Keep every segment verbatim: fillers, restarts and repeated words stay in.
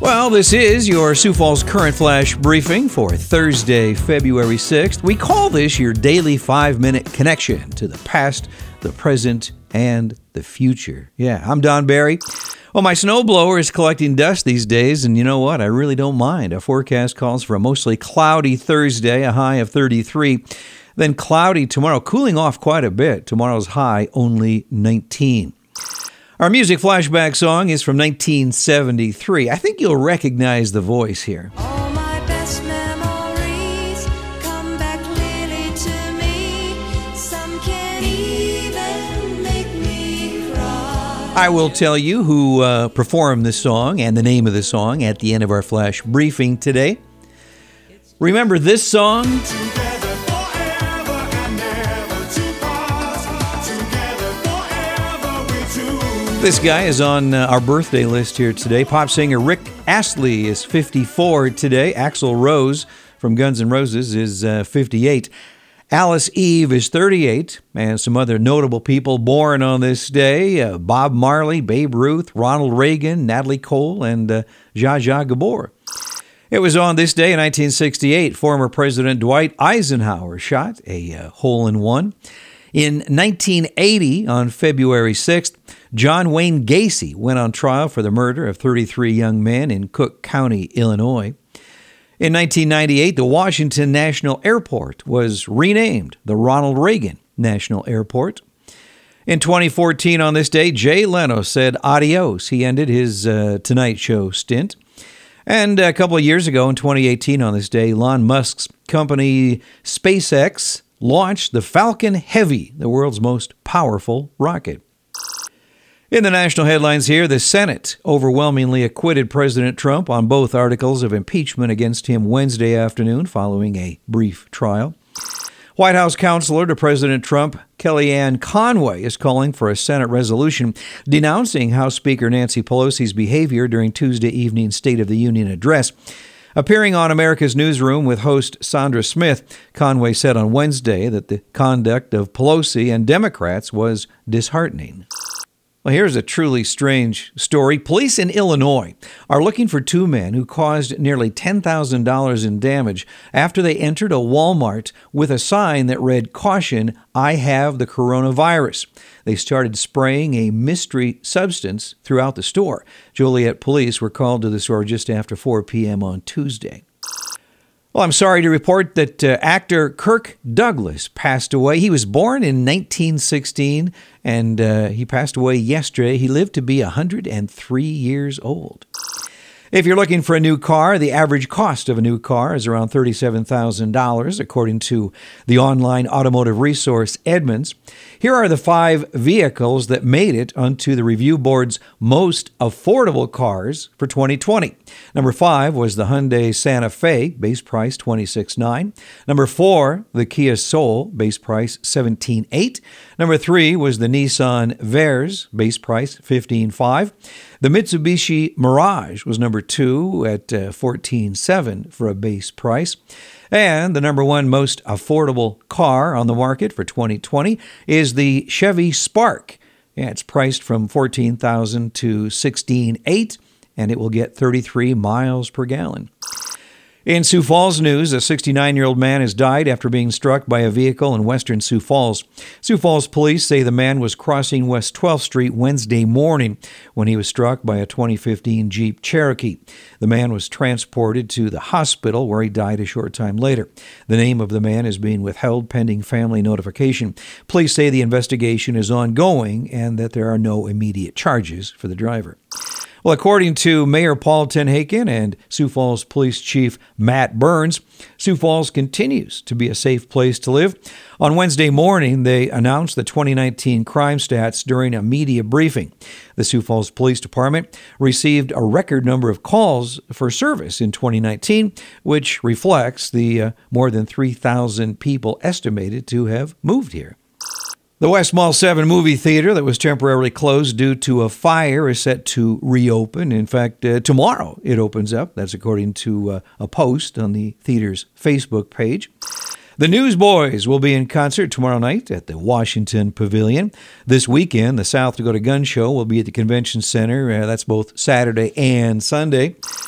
Well, this is your Sioux Falls Current Flash briefing for Thursday, February sixth. We call this your daily five-minute connection to the past, the present, and the future. Yeah, I'm Don Barry. Well, my snowblower is collecting dust these days, and you know what? I really don't mind. Our forecast calls for a mostly cloudy Thursday, a high of thirty-three. Then cloudy tomorrow, cooling off quite a bit. Tomorrow's high only nineteen. Our music flashback song is from nineteen seventy-three. I think you'll recognize the voice here. All my best memories come back clearly to me. Some can even make me cry. I will tell you who uh, performed this song and the name of the song at the end of our flash briefing today. Remember this song? This guy is on uh, our birthday list here today. Pop singer Rick Astley is fifty-four today. Axl Rose from Guns N' Roses is uh, fifty-eight. Alice Eve is thirty-eight. And some other notable people born on this day. Uh, Bob Marley, Babe Ruth, Ronald Reagan, Natalie Cole, and uh, Zsa Zsa Gabor. It was on this day in nineteen sixty-eight, former President Dwight Eisenhower shot a uh, hole-in-one. In nineteen eighty, on February sixth, John Wayne Gacy went on trial for the murder of thirty-three young men in Cook County, Illinois. In nineteen ninety-eight, the Washington National Airport was renamed the Ronald Reagan National Airport. In twenty fourteen, on this day, Jay Leno said adios. He ended his uh, Tonight Show stint. And a couple of years ago, in twenty eighteen, on this day, Elon Musk's company SpaceX launched the Falcon Heavy, the world's most powerful rocket. In the national headlines here, the Senate overwhelmingly acquitted President Trump on both articles of impeachment against him Wednesday afternoon following a brief trial. White House counselor to President Trump, Kellyanne Conway, is calling for a Senate resolution denouncing House Speaker Nancy Pelosi's behavior during Tuesday evening's State of the Union address. Appearing on America's Newsroom with host Sandra Smith, Conway said on Wednesday that the conduct of Pelosi and Democrats was disheartening. Well, here's a truly strange story. Police in Illinois are looking for two men who caused nearly ten thousand dollars in damage after they entered a Walmart with a sign that read, "Caution, I have the coronavirus." They started spraying a mystery substance throughout the store. Joliet police were called to the store just after four p.m. on Tuesday. Well, I'm sorry to report that uh, actor Kirk Douglas passed away. He was born in nineteen sixteen, and uh, he passed away yesterday. He lived to be one hundred three years old. If you're looking for a new car, the average cost of a new car is around thirty-seven thousand dollars, according to the online automotive resource Edmunds. Here are the five vehicles that made it onto the review board's most affordable cars for twenty twenty. Number five was the Hyundai Santa Fe, base price twenty-six thousand nine hundred dollars. Number four, the Kia Soul, base price seventeen thousand eight hundred dollars. Number three was the Nissan Verz, base price fifteen thousand five hundred dollars. The Mitsubishi Mirage was number two at uh, fourteen thousand seven hundred dollars for a base price. And the number one most affordable car on the market for twenty twenty is the Chevy Spark. Yeah, it's priced from fourteen thousand dollars to sixteen thousand eight hundred dollars, and it will get thirty-three miles per gallon. In Sioux Falls news, a sixty-nine-year-old man has died after being struck by a vehicle in western Sioux Falls. Sioux Falls police say the man was crossing West twelfth Street Wednesday morning when he was struck by a twenty fifteen Jeep Cherokee. The man was transported to the hospital where he died a short time later. The name of the man is being withheld pending family notification. Police say the investigation is ongoing and that there are no immediate charges for the driver. Well, according to Mayor Paul Tenhaken and Sioux Falls Police Chief Matt Burns, Sioux Falls continues to be a safe place to live. On Wednesday morning, they announced the twenty nineteen crime stats during a media briefing. The Sioux Falls Police Department received a record number of calls for service in twenty nineteen, which reflects the uh, more than three thousand people estimated to have moved here. The West Mall seven movie theater that was temporarily closed due to a fire is set to reopen. In fact, uh, tomorrow it opens up. That's according to uh, a post on the theater's Facebook page. The Newsboys will be in concert tomorrow night at the Washington Pavilion. This weekend, the South Dakota Gun Show will be at the Convention Center. Uh, that's both Saturday and Sunday.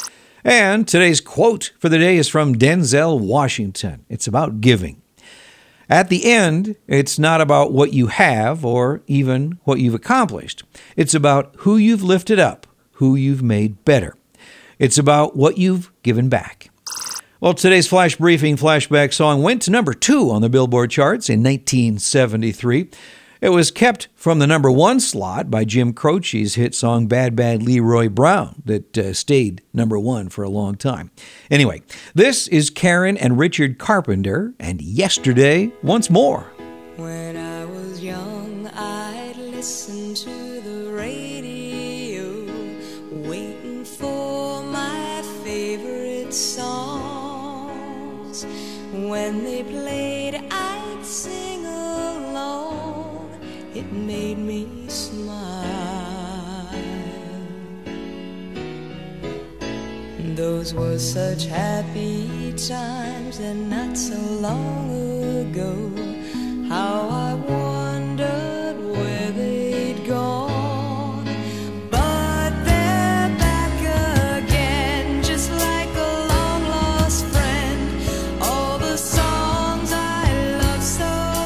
And today's quote for the day is from Denzel Washington. It's about giving. At the end, it's not about what you have or even what you've accomplished. It's about who you've lifted up, who you've made better. It's about what you've given back. Well, today's Flash Briefing flashback song went to number two on the Billboard charts in nineteen seventy-three. It was kept from the number one slot by Jim Croce's hit song Bad Bad Leroy Brown that uh, stayed number one for a long time. Anyway, this is Karen and Richard Carpenter and Yesterday Once More. When I was young, I'd listen to the radio, waiting for my favorite songs. When they played, I'd sing along. It made me smile. Those were such happy times, and not so long ago. How I wondered where they'd gone. But they're back again, just like a long-lost friend. All the songs I love so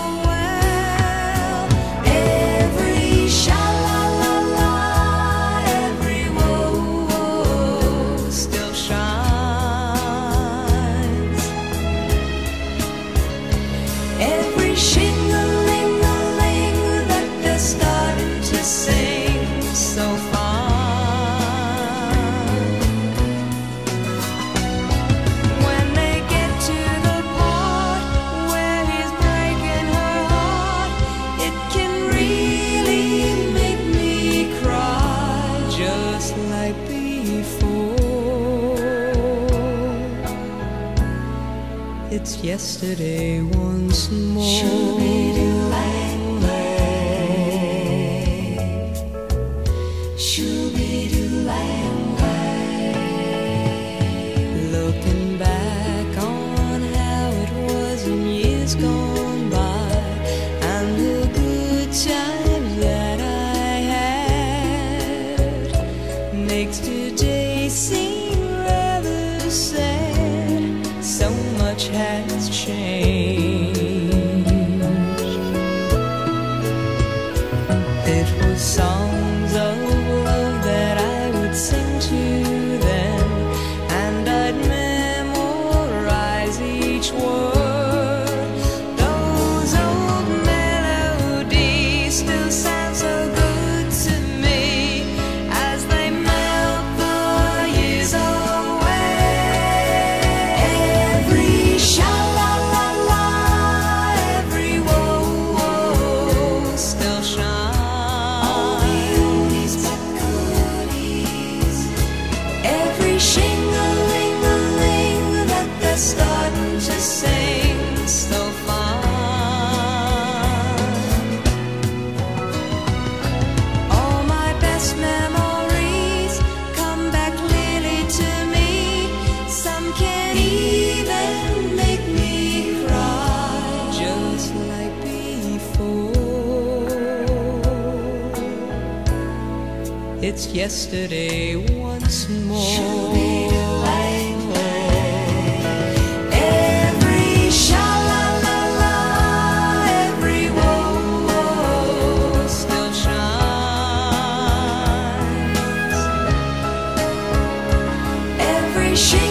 well. Every sha-la-la-la, every woe still shines. Every shing-a-ling-a-ling that they're starting to sing so fine. When they get to the part where he's breaking her heart, it can really make me cry, just like before. It's yesterday once more. Looking back on how it was in years gone by, and the good times that I had, makes today seem rather sad. So much has changed. It was songs of love that I would sing to them, and I'd memorize each word. Those old melodies still sound so good to me as they melt the years away. Every sha-la-la-la, every woe still shines. All the oldies but goodies. Every shing-a-ling-a-ling that they're starting to sing so fine. All my best memories come back clearly to me. Some can even make me cry, just like before. It's yesterday once more. Every sha-la-la-la, every woe still shines. Every shing